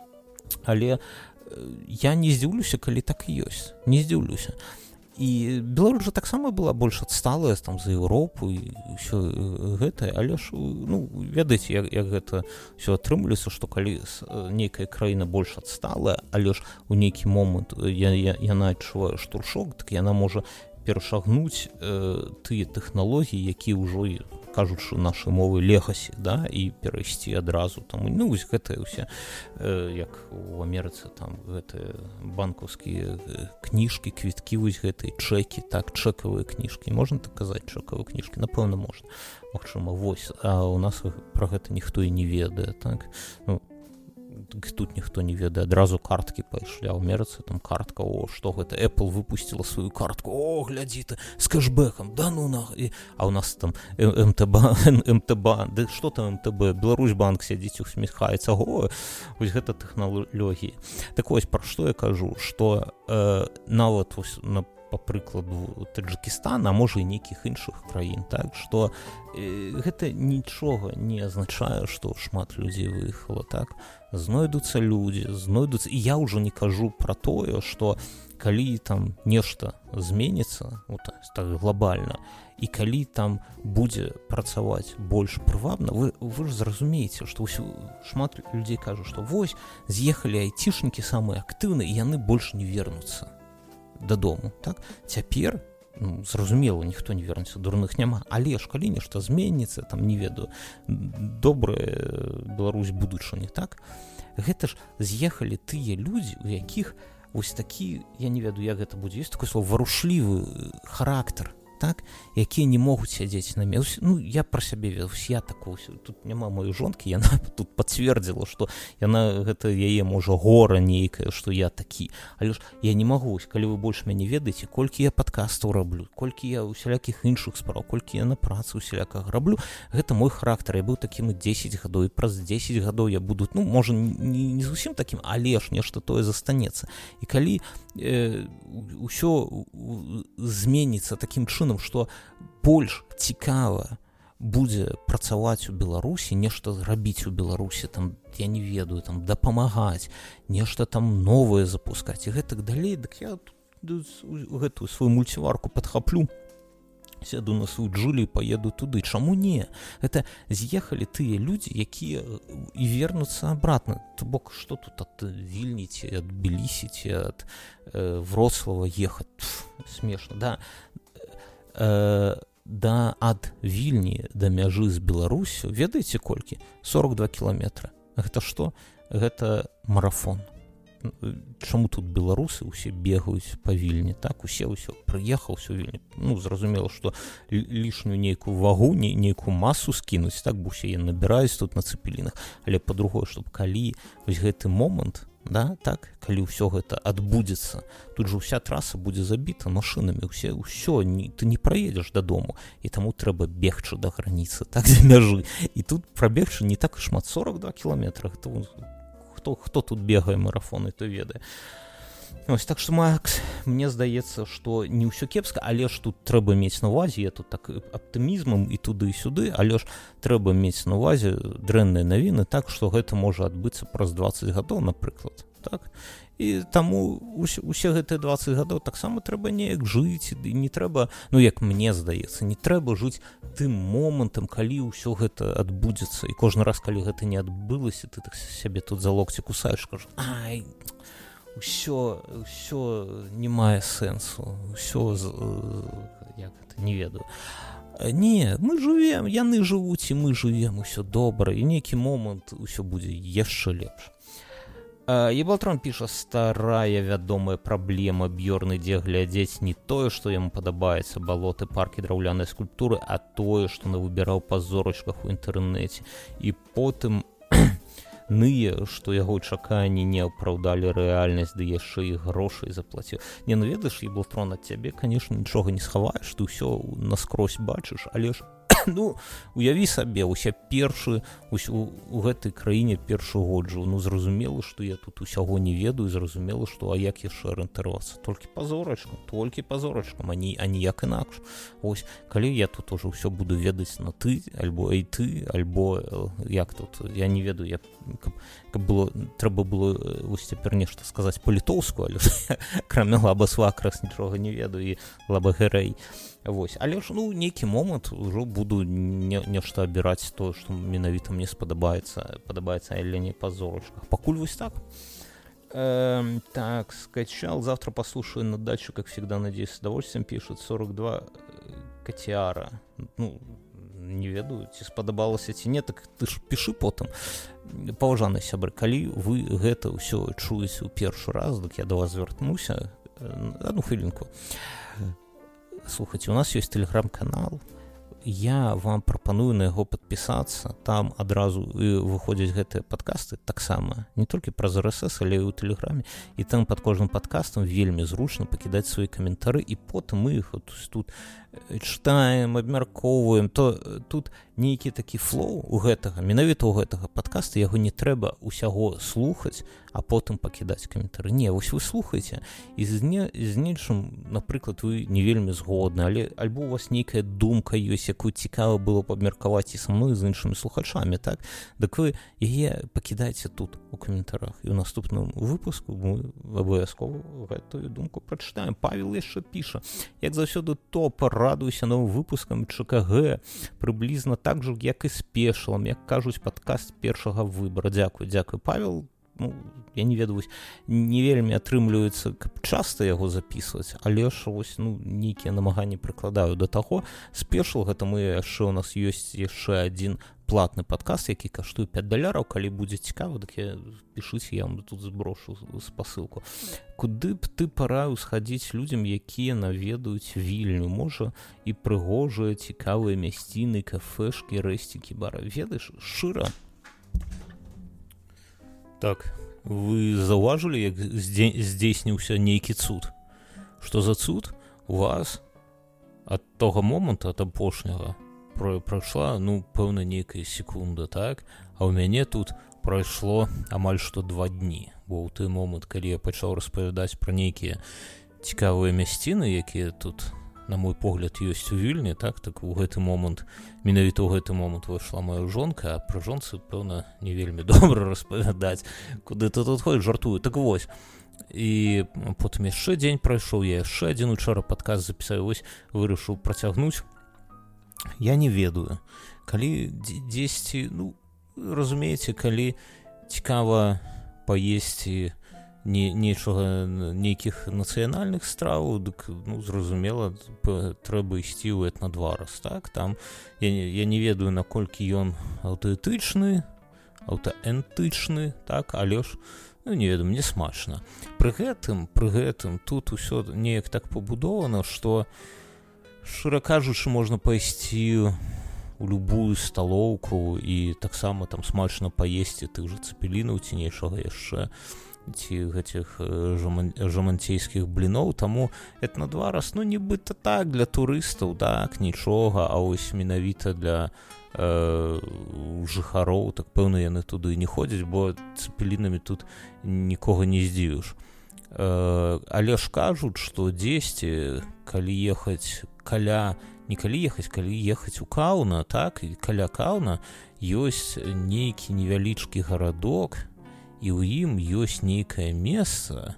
але я не здзіўлюся, калі так і ёсць, не здзіўлюся. І Беларусь жа таксама была больш адсталая там за Еўропу і ўсё гэтае, але ж, ну, ведаеце, як, як гэта ўсё атрымліваецца, што калі нейкая краіна больш адсталая, але ж у нейкі момант я, я, яна адчувае штуршок, так яна можа перашагнуць э, тыя тэхналогіі, якія ўжо, кажучы нашай мовы, легасі, да, і перайсці адразу там, ну, вось гэтыя ўсе, э, як у Амерыцы, там, гэтыя банкаўскія кніжкі, квіткі, вось гэтыя чэкі, так, чэкавыя кніжкі, можна так казаць, чэкавыя кніжкі, напэўна, можна, магчыма, вось, а у нас пра гэта ніхто і не ведае, так, ну, тут ніхто не ведае, адразу карткі пайшлі, а ў Амерыцы там картка, о, што гэта, Apple выпусціла сваю картку, о, глядзі ты, з кэшбэкам, да ну на, і... а ў нас там эм тэ бэ, эм тэ бэ, ды што там эм тэ бэ, Беларусьбанк сядзіць, усміхаецца, о, вось гэта тэхналогіі. Так вось, пра што я кажу, што э, нават вось на па прыкладу Таджыкістана, а можа і нейкіх іншых краін, так, што э, гэта нічога не азначае, што шмат людзей выехала, так, знойдуцца людзі, знойдуцца, і я ўжо не кажу пра тое, што калі там нешта зменіцца, вот, так глобальна, і калі там будзе працаваць больш прывабна, вы, вы ж зразумееце, што ўсё, шмат людзей кажуць, што вось, з'ехалі айцішнікі самыя актыўныя, і яны больш не вернуцца дадому, так? Цяпер, ну, зразумела, ніхто не вернецца, дурных няма, але ж калі нешта зменіцца, там, не ведаю, добрая Беларусь будучыні, так? Гэта ж з'ехалі тыя людзі, у якіх вось такі, я не ведаю, як гэта будзе, ёсць такое слово, варушлівы характар, так, якія не могуць сядзець на месцы. Ну, я пра сябе ведаю, я такого, тут няма маёй жонкі, яна тут пацвердзіла, што яна, гэта яе, можа, гора нейкая, што я такі. Але ж я не магу, калі вы больш мяне ведаеце, колькі я падкастаў раблю, колькі я усялякіх іншых справ, колькі я на працы усяляках раблю, гэта мой характар. Я быў такім дзесяць гадоў, і праз дзесяць гадоў я буду, ну, можа, не, не зусім такім, але ж нешта тое застанецца. І калі э, ўсё зменіцца такім чынам, што больш цікава будзе працаваць у Беларусі, нешта зрабіць у Беларусі, там, я не ведаю, там, дапамагаць, нешта там новае запускаць і гэтак далей, дык я гэтую сваю мульціварку падхаплю сяду на сваю Джулі і паеду туды. Чаму не? Гэта з'ехалі тыя людзі, якія і вернуцца абратна. То бок, што тут ад Вільні ці ад Тбілісі ці ад э, Вроцлава ехаць? Пф, смешна, да. Э, да ад Вільні да мяжы з Беларусю, ведаеце колькі? сорок два кіламетра. Гэта што? Гэта марафон. Чаму тут беларусы ўсе бегаюць па Вільні, так, усе ўсё прыехаў усё Вільні, ну, зразумела, што лішнюю нейкую вагу, не, нейкую масу скінуць, так, бо усе яны набіраюць тут на цэпелінах, але па-другое, чтобы калі вось гэты момант, да, так, калі ўсё гэта адбудзецца, тут же ўся траса будзе забіта машынамі, усе, ўсё, не, ты не праедзеш дадому, і таму трэба бегчы да граніцы, так, за мяжы, і тут прабегчы не так і шмат, сорок два кіламетра, гэта Хто, хто тут бегае марафоны, то ведае. Ось, так што, Макс, мне здаецца, што не ўсё кепска, але ж тут трэба мець на увазе, я тут так аптымізмам і туды і сюды, але ж трэба мець на увазе дрэнныя навіны, так што гэта можа адбыцца праз дваццаць гадоў, напрыклад, так? І таму усе, усе гэтыя дваццаць гадоў таксама трэба неяк жыць, і не трэба, ну як мне здаецца, не трэба жыць тым момантам, калі ўсё гэта адбудзецца, і кожны раз, калі гэта не адбылася, ты так сябе тут за локці кусаеш, кажу, ай, усё, усё не мае сэнсу, усё, як гэта, не ведаю. Не, мы жывем, яны жывуць, і мы жывем, усё добра, і нейкі момант усё будзе яшчэ лепш. Ебалтрон піша, старая вядомая праблема Бьёрн ідзе глядзець не тое, што яму падабаецца, балоты, паркі, драўляныя скульптуры, а тое, што навыбіраў па зорачках у інтэрнэце. І потым ные, што яго чаканні не апраўдалі рэальнасць, ды яшчэ і грошай заплаціў. Не, ну ведаеш, Ебалтрон, ад цябе, канешне, нічога не схаваеш, ты ўсё наскрозь бачыш, але ж ну, уяві сабе, уся першы, усь, у, у гэтай краіне першы год жыў, ну, зразумела, што я тут усяго не ведаю, зразумела, што, а як яшчэ арыентавацца? Толькі па зорачкам, толькі па зорачкам, а, не, а ніяк інакш. Ось, калі я тут уже ўсё буду ведаць на ты, альбо ай ты, альбо, як тут, я не ведаю, я, каб, каб было, трэба было, вось цяпер нешта сказаць па-літоўску, але кроме лаба-свакрас нічога не ведаю, і лаба-гэрэй. Вось, але ж, ну, нейкі момант ужо буду не, нешта абіраць то, што менавіта мне спадабаецца, падабаецца, але не па зорачках. Пакуль вось так. Эм, так, скачал, завтра послушаю на дачу, как всегда, надеюсь, с удовольствием, пишет сорок два Катиара. Ну, не ведаю, ці спадабалася ці не, так ты ж пішы потым. Паважаныя сябры, калі вы гэта ўсё чуеце ў першы раз, дык я да вас звярнуся. Одну хвілінку. Слухайте, у нас есть телеграм-канал, я вам прапаную на яго падпісацца, там адразу выходзяць гэтыя падкасты таксама, не толькі праз эр эс эс, але і ў тэлеграме, і там пад кожным падкастам вельмі зручна пакідаць свае каментары, і потым мы іх тут чытаем, абмяркоўваем, то тут нейкі такі флоу у гэтага, менавіта ў гэтага падкаста, яго не трэба усяго слухаць, а потым пакідаць каментары. Не, вось вы слухаеце, і з, не, з нечым, напрыклад, вы не вельмі згодны, але альбо у вас нейкая думка ёсць, якую цікава было б абмеркаваць і са мной, з іншымі слухачамі, так? Дык вы яе пакідайце тут у каментарах, і ў наступным выпуску мы абавязкова гэтую думку прачытаем. Павел яшчэ піша, як заўсёды топ, радуйся новым выпускам ЧКГ, прыблізна так же, як і з пешалам, як кажуць, падкаст першага выбара. Дзякуй, дзякуй, Павел. Ну, я не ведаю, не вельмі атрымліваецца, каб часта яго запісваць, але ж вось, ну, нейкія намаганні прыкладаю да таго. Спешл, гэта мы яшчэ, у нас ёсць яшчэ адзін платны падкаст, які каштуе пяць даляраў, калі будзе цікава, дык я пішыце, я вам тут зброшу спасылку. Куды б ты параіў схадзіць людзям, якія наведаюць Вільню? Можа, і прыгожыя, цікавыя мясціны, кафешкі, рэсцікі, бары. Ведаеш, шчыра. Так, вы заўважылі, як здзейсніўся нейкі цуд? Што за цуд? У вас ад того моманту, ад апошняга, прайшла, ну, пэўна, нейкая секунда, так? А ў мяне тут прайшло амаль што два дні, бо ў той момант, калі я пачаў распавядаць пра нейкія цікавыя мясціны, якія тут, на мой погляд, ёсць у Вільні, так, так у гэты момант, менавіта ў гэты момант выйшла моя жонка, а пра жонцы, пэўна, не вельмі добра распавядаць, куды ты тут ходзіш, жартую. Так вось, і потым яшчэ дзень прайшоў, я яшчэ адзін учора падкаст запісаў, вось вырашыў працягнуць я не ведаю, калі дзесьці, ну, разумееце, калі цікава паесці не, нечага, нейкіх нацыянальных страваў, дык, ну, зразумела, трэба ісці ў этнадварас, так, там, я, я не ведаю, наколькі ён аўтэнтычны, аўтэнтычны, так, але ж, ну, не ведаю, мне смачна. Пры гэтым, пры гэтым, тут усё неяк так пабудована, што, шчыра кажучы, можна пайсці у любую сталоўку і таксама там смачна паесці тых жа цэпелінаў ці нечага яшчэ, ці гэтых жаман, жаманцейскіх бліноў, таму этнадварас, ну, нібыта так, для турыстаў, так, нічога, а ось менавіта для э, жыхароў, так пэўна яны туды не ходзяць, бо цэпелінамі тут нікога не здзівіш. Э, але ж кажуць, што дзесьці, калі ехаць каля, не калі ехаць, калі ехаць у Каўна, так, і каля Каўна ёсць нейкі невялічкі гарадок, і ў ім ёсць нейкае месца,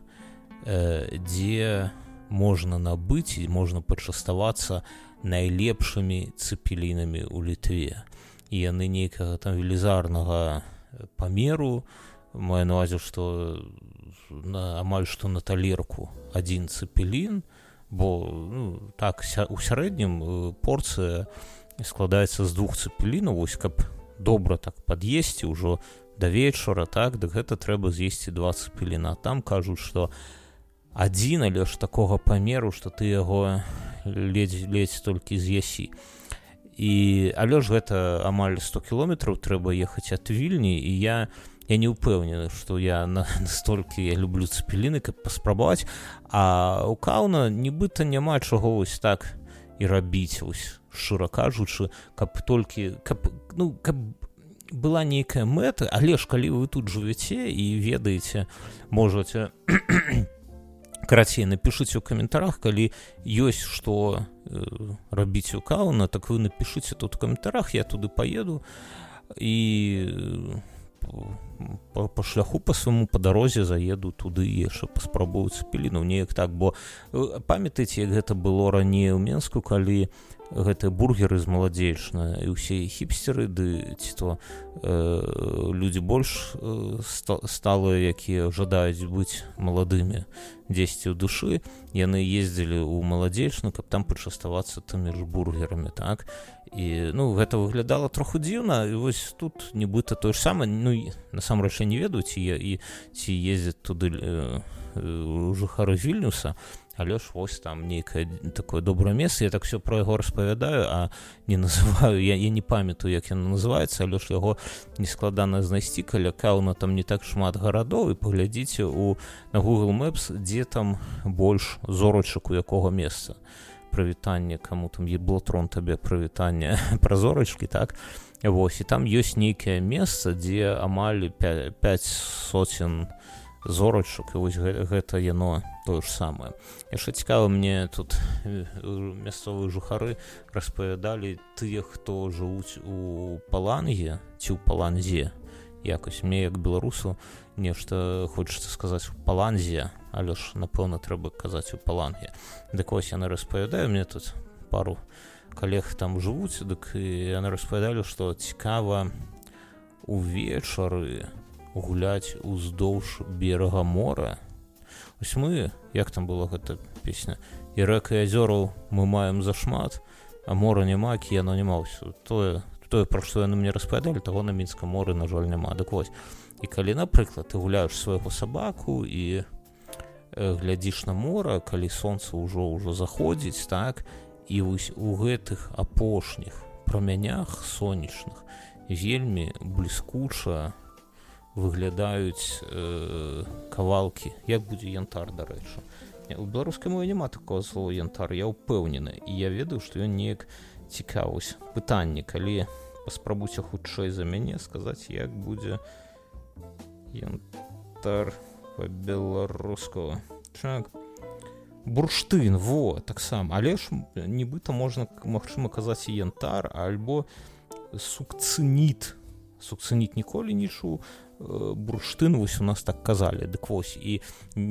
э, дзе можна набыць і можна пачаставацца найлепшымі цэпелінамі ў Літве. І яны нейкага там велізарнага памеру, маю на ўвазе, што на, амаль што на талерку адзін цэпелін, бо, ну, так, ся, у сярэднім порцыя складаецца з двух цэпелінаў, вось, каб добра так пад'есці ўжо да вечара, так, дык гэта трэба з'есці два цэпеліна. Там кажуць, што адзін, але ж такога памеру, што ты яго ледзь-ледзь толькі з'ясі. І, але ж гэта амаль сто кіламетраў трэба ехаць ад Вільні, і я Я не ўпэўнены, што я настолькі я люблю цэпеліны, каб паспрабаваць, а ў Каўна нібыта няма чаго вось так і рабіць, вось, шчыра кажучы, каб толькі, каб, ну, каб была нейкая мэта, але ж калі вы тут жывяце і ведаеце, можаце, карацей, напішыце ў каментарах, калі ёсць што э, рабіць у Каўна, так вы напішыце тут у каментарах, я туды паеду і По, по шляху по свайму па дарозе заеду туды яшчэ паспрабую цэпелінаў, неяк так, бо памятаеце, як гэта было раней у Менску, калі гэтыя бургеры з маладзечна і ўсе хіпстеры, ды ці то э, людзі больш э, сталыя, якія жадаюць быць маладымі дзесьці ў душы, яны ездзілі ў маладзечну, каб там пачаставацца тымі ж бургерамі, так. І, ну, гэта выглядала троху дзіўна, і вось тут нібыта тое ж самае, ну, насамрэч я не ведаю, ці, і, ці ездзяць туды э, э, жыхары Вільнюса, але ж вось там нейкае такое добрае месца, я так все про яго распавядаю, а не называю, я, я не памятаю, як яно называецца, але ж яго нескладана знайсці, каля Каўна там не так шмат гарадоў, і паглядзіце у, на Google Maps, дзе там больш зорачак у якога месца. Прывітанне, каму там еблотрон табе прывітанне пра зорачкі, так, вось, і там ёсць нейкае месца, дзе амаль пяць соцен зорачак, і вось гэта, гэта яно тое ж самае. Яшчэ цікава, мне тут мясцовыя жыхары распавядалі тыя, хто жывуць у Паланге ці ў Паланзе, якось мне як беларусу нешта хочацца сказаць у Паланзе, але ж напэўна трэба казаць у Паланге. Дык вось яны распавядаю, мне тут пару калег там жывуць, дык яны распавядалі, што цікава увечары гуляць уздоўж берага мора. Вось мы, як там была гэта песня, і рэк і азёраў мы маем зашмат, а мора няма, кіяно няма. Тое, тое, пра што яны мне распавядалі, таго на Мінскам моры, на жаль, няма. Дык вось, і калі, напрыклад, ты гуляеш свайго сабаку і глядзіш на мора, калі сонца ўжо ўжо заходзіць, так, і вось у гэтых апошніх прамянях сонечных вельмі бліскуча выглядаюць э, кавалкі, як будзе янтар, дарэчы. У беларускай мове няма такого слова янтар, я ўпэўнены, і я ведаю, што ён неяк цікавіць. Пытанне, калі паспрабуйце хутчэй за мяне сказаць, як будзе янтар по-беларускаму. Так. Бурштын, во, таксама. Але ж нібыта можна, магчыма, казаць і янтар, альбо сукцыніт. Сукцыніт ніколі не чуў. Бурштын, вось у нас так казалі. Дык вось, і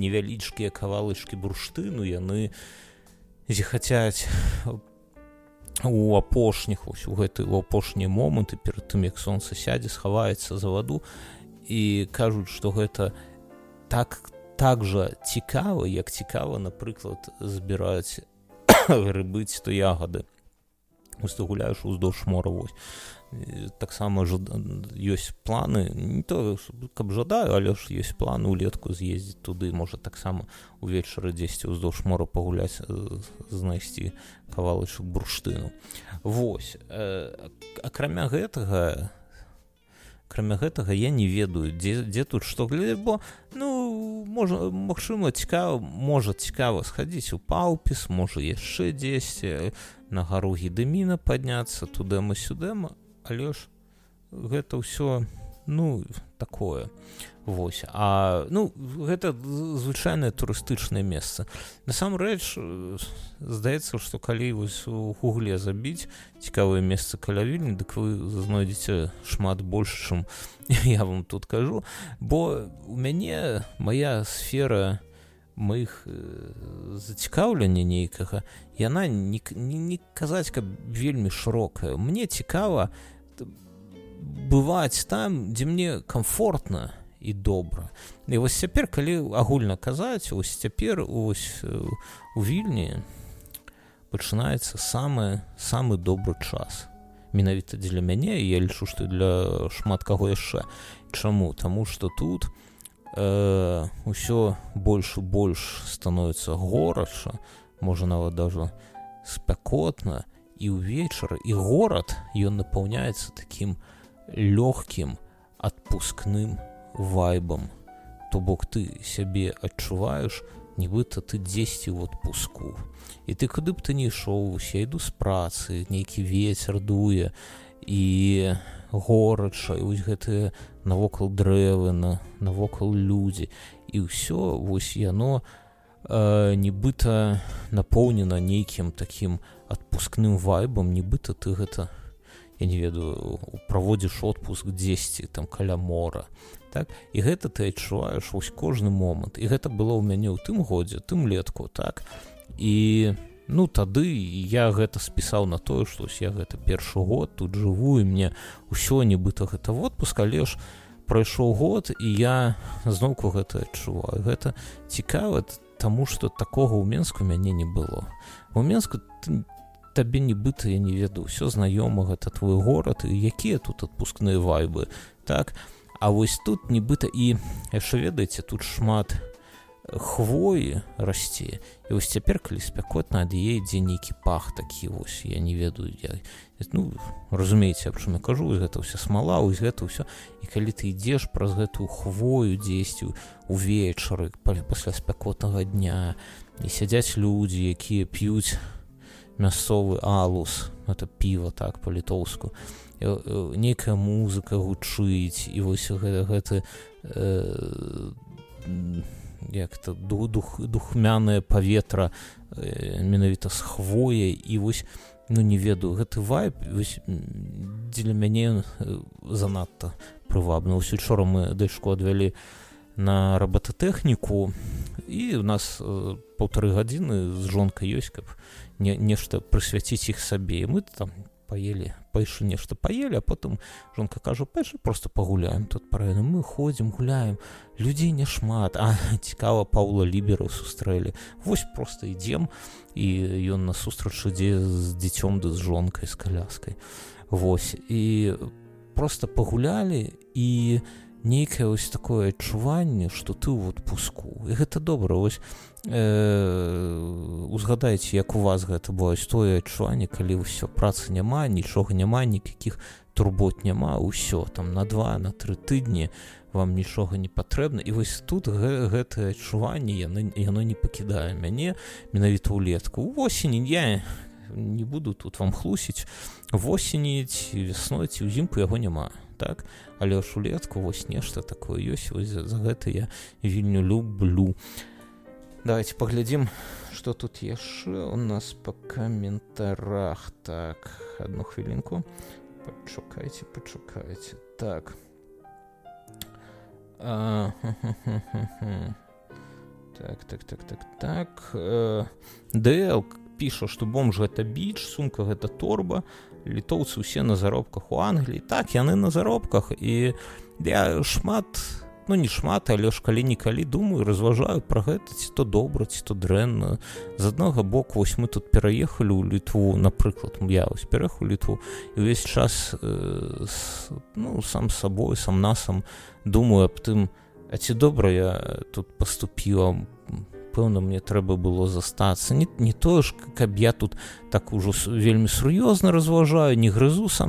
невялічкія кавалачкі бурштыну, яны зіхацяць у апошніх вось у гэты у апошнія моманты перад тым як сонца сядзе схаваецца за ваду і кажуць што гэта так так жа цікава як цікава напрыклад збіраць грыбы ці то ягады вось ты гуляеш уздоўж мора вось таксама ёсць планы не то каб жадаю але ж ёсць планы улетку з'ездзіць туды можа таксама увечары дзесьці ўздоўж мора пагуляць знайсці кавалачак бурштыну вось акрамя гэтага акрамя гэтага я не ведаю дзе, дзе тут што глядзець бо ну можа магчыма цікава можа цікава схадзіць у Паўпіс можа яшчэ дзесьці на гару Гедыміна падняцца тудэма-сюдэма але ж гэта ўсё ну такое вось а ну гэта звычайнае турыстычнае месца насамрэч здаецца што калі вось у гугле забіць цікавае месца каля Вільні дык вы знойдзеце шмат больш чым я вам тут кажу бо у мяне моя сфера маіх зацікаўлення нейкага яна не, не, не казаць каб вельмі шырокая мне цікава бываць там дзе мне комфортна і добра і вось цяпер калі агульна казаць ось цяпер ось у Вільні пачынаецца самы самы добры час менавіта дзеля мяне я лічу што для шмат каго яшчэ чаму таму што тут э, усё больш і больш становіцца горача можа нават даже спякотна і ўвечары і горад ён напаўняецца такім лёгкім адпускным вайбам то бок ты сябе адчуваеш нібыта ты дзесьці ў адпуску і ты куды б ты не ішоў я іду з працы нейкі вецер дуе і горача і вось гэтыя навокал дрэвы на навокал людзі і ўсё вось яно э, нібыта напоўнена нейкім такім адпускным вайбам нібыта ты гэта я не ведаю праводзіш отпуск дзесьці там каля мора так і гэта ты адчуваеш вось кожны момант і гэта было ў мяне ў тым годзе тым летку так і ну тады я гэта спісаў на тое што я гэта першы год тут жыву і мне ўсё нібыта гэта отпуск але ж прайшоў год і я зноўку гэта адчуваю гэта цікава таму што такога ў Менску мяне не было у Менску ты табе нібыта я не ведаю ўсё знаёма гэта твой горад і якія тут адпускныя вайбы так а вось тут нібыта і яшчэ ведаеце тут шмат хвоі расце і вось цяпер калі спякотна ад яе ідзе нейкі пах такі вось я не ведаю я ну разумееце аб чым я кажу гэта ўся смала вось гэта ўсё і калі ты ідзеш праз гэтую хвою дзесьці увечары пасля спякотнага дня і сядзяць людзі якія п'юць мясцовы алус это піва так па-літоўску нейкая музыка гучыць і вось гэта, гэта э, як-то дух, духмянае паветра э, менавіта з хвояй і вось ну не ведаю гэты вайб вось дзеля мяне занадта прывабна вось учора мы дачку адвялі на робототэхніку і у нас э, паўтары гадзіны з жонкай ёсць каб не, нешта прысвяціць іх сабе і мы там паелі пайшлі нешта паелі а потым жонка кажа пайшлі просто пагуляем тут параіну мы ходзім гуляем людзей няшмат а цікава Паўла Лібера сустрэлі вось просто ідзем і ён насустрач ідзе з дзіцём ды з жонкай з каляскай вось і просто пагулялі і нейкае вось такое адчуванне што ты ў адпуску і гэта добра вось э, узгадайце як у вас гэта было тое адчуванне калі ўсё працы няма нічога няма ніякіх турбот няма ўсё там на два на тры тыдні вам нічога не патрэбна і вось тут гэ, гэтае адчуванне яно, яно не пакідае мяне менавіта ўлетку у восені я не буду тут вам хлусіць восені ці вясной ці ўзімку яго няма так але ж улетку вось нешта такое ёсць вось за, за гэта я Вільню люблю давайте паглядзім што тут яшчэ у нас па каментарах так одну хвілінку пачакайце пачакайце так а, так так так так так э, ДЛ піша, што бомж гэта біч, сумка гэта торба, літоўцы ўсе на заробках у Англіі. Так, яны на заробках, і я шмат, ну не шмат, але ж калі-нікалі думаю, разважаю пра гэта, ці то добра, ці то дрэнна. З аднаго боку, вось мы тут пераехалі ў Літву, напрыклад, я вось пераехаў у Літву, і ўвесь час э, с, ну, сам сабой, сам насам думаю аб тым, а ці добра я тут паступіла, пэўна, мне трэба было застацца. Не, не тое ж, каб я тут так ужо вельмі сур'ёзна разважаю, не грызу сам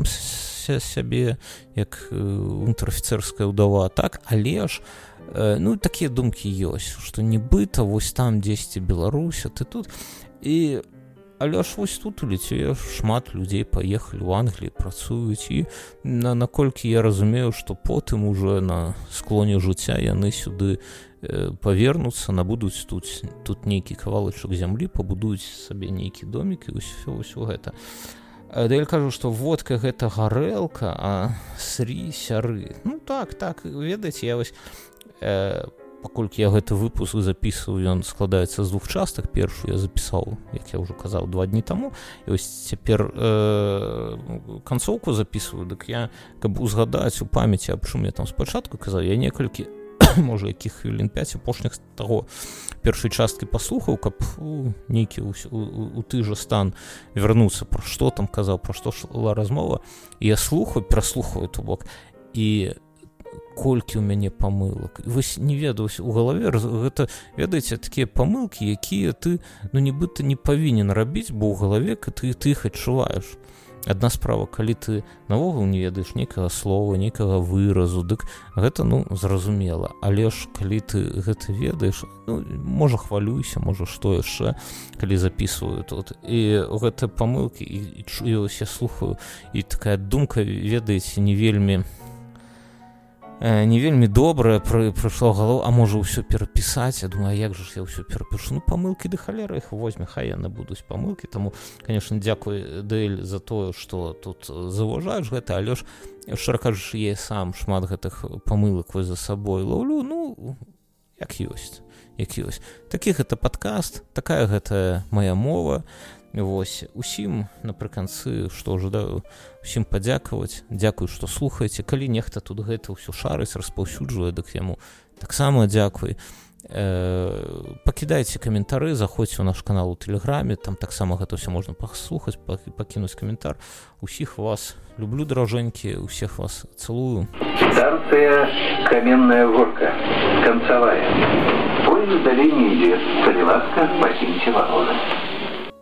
сябе, як унтэр-афіцэрская ўдава, так, але ж, э, ну, такія думкі ёсць, што нібыта вось там дзесьці Беларусь, а ты тут, і, але ж вось тут у Літве шмат людзей паехалі ў Англіі, працуюць, і на, наколькі я разумею, што потым уже на склоне жыцця яны сюды э, павернуцца, набудуць тут, тут нейкі кавалачак зямлі, пабудуюць сабе нейкі домік, і ўсё, ўсё гэта. Да я кажу, што водка гэта гарэлка, а срі сяры. Ну так, так, ведаеце, я вось, э, паколькі я гэты выпуск запісваю, ён складаецца з двух частак. Першую я запісаў, як я ўжо казаў, два дні таму, і вось цяпер э, канцоўку запісваю, дык я, каб узгадаць у памяці, аб чым я там спачатку казаў, я некалькі, можа, якіх хвілін пяць апошніх таго першай часткі паслухаў, каб у, нейкі у, у, у ты жа стан вярнуцца, пра што там казаў, пра што шла размова, і я слухаю, пераслухаю ту бок, і колькі ў мяне памылак. Вось не ведаю, у галаве гэта, ведаеце, такія памылкі, якія ты, ну, нібыта не павінен рабіць, бо ў галаве ты, ты іх адчуваеш. Адна справа, калі ты наогул не ведаеш нейкага слова, нейкага выразу, дык гэта, ну, зразумела. Але ж, калі ты гэта ведаеш, ну, можа, хвалюйся, можа, што яшчэ, калі запісваю тут. І гэтыя памылкі, і, і чую, я слухаю, і такая думка, ведаеце, не вельмі, э, не вельмі добрая пры, прыйшла ў галаву, а можа, ўсё перапісаць. Я думаю, а як жа ж я ўсё перапішу? Ну, памылкі ды халера іх возьме, хай яны будуць памылкі. Таму, конечно, дзякуй, Дэль, за тое, што тут заўважаеш гэта, але ж, шчыра кажучы, я сам шмат гэтых памылак вось за сабой лаўлю, ну, як ёсць, як ёсць. Такі гэта падкаст, такая гэта моя мова. Вось, усім напрыканцы, што жадаю усім падзякаваць, дзякуй, што слухаеце. Калі нехта тут гэта ўсё шарыць, распаўсюджвае, дык яму таксама дзякуй. Э, пакідайце каментары, заходзьце ў наш канал у Тэлеграме, там таксама гэта ўсё можна паслухаць, пакінуць каментар. Усіх вас люблю, дорожэнькі, усіх вас цэлую. Станция Каменная Горка, концевая. Поезд в долине идет. Цареватка, покиньте вагоны.